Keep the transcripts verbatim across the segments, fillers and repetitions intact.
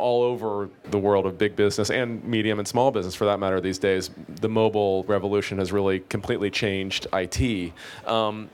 all over the world of big business and medium and small business, for that matter, these days. The mobile revolution has really completely changed I T. Um,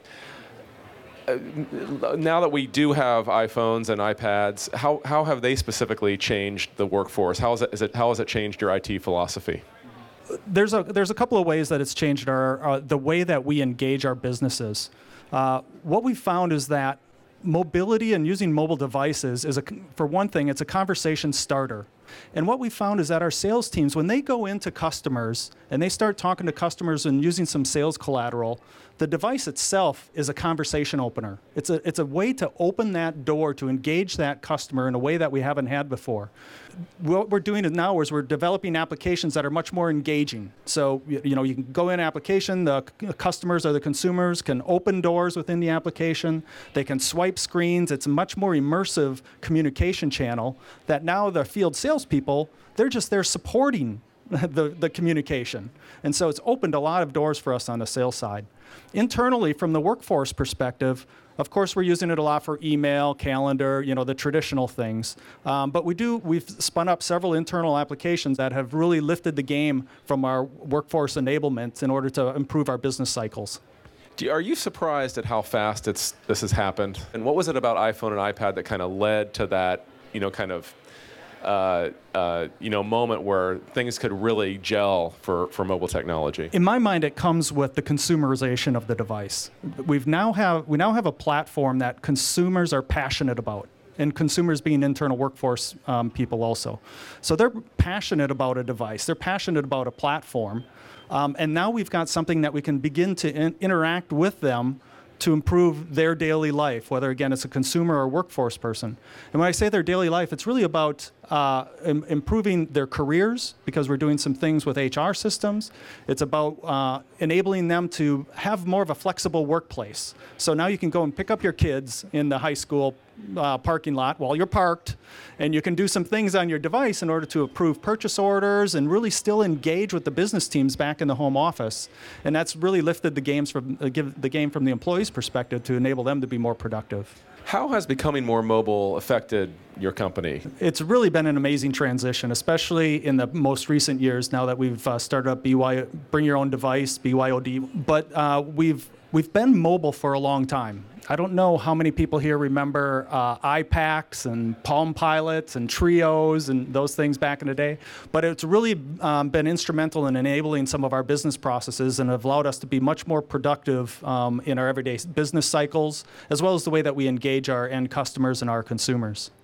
now that we do have iPhones and iPads, how, how have they specifically changed the workforce? How, is it, is it, how has it changed your I T philosophy? There's a there's a couple of ways that it's changed our uh, the way that we engage our businesses. Uh, what we've found is that mobility and using mobile devices is a, for one thing, it's a conversation starter. And what we found is that our sales teams, when they go into customers and they start talking to customers and using some sales collateral, the device itself is a conversation opener. It's a, it's a way to open that door to engage that customer in a way that we haven't had before. What we're doing now is we're developing applications that are much more engaging. So, you know, you can go in application, the customers or the consumers can open doors within the application, they can swipe screens. It's a much more immersive communication channel that now the field salespeople, they're just there supporting the, the communication. And so it's opened a lot of doors for us on the sales side. Internally, from the workforce perspective, of course, we're using it a lot for email, calendar, you know, the traditional things. Um, but we do, we've spun up several internal applications that have really lifted the game from our workforce enablement in order to improve our business cycles. Do you, are you surprised at how fast it's, this has happened? And what was it about iPhone and iPad that kind of led to that, you know, kind of Uh, uh, you know, moment where things could really gel for, for mobile technology? In my mind, it comes with the consumerization of the device. We've now have, we now have a platform that consumers are passionate about, and consumers being internal workforce um, people also. So they're passionate about a device. They're passionate about a platform. Um, and now we've got something that we can begin to in- interact with them to improve their daily life, whether, again, it's a consumer or a workforce person. And when I say their daily life, it's really about uh, im- improving their careers, because we're doing some things with H R systems. It's about uh, enabling them to have more of a flexible workplace. So now you can go and pick up your kids in the high school uh, parking lot while you're parked, and you can do some things on your device in order to approve purchase orders and really still engage with the business teams back in the home office. And that's really lifted the games from uh, give the game from the employee's perspective to enable them to be more productive. How has becoming more mobile affected your company? It's really been an amazing transition, especially in the most recent years now that we've uh, started up B Y, Bring Your Own Device, B Y O D. But uh, we've we've been mobile for a long time. I don't know how many people here remember uh, iPacs and Palm Pilots and Trios and those things back in the day, but it's really um, been instrumental in enabling some of our business processes and have allowed us to be much more productive um, in our everyday business cycles, as well as the way that we engage our end customers and our consumers.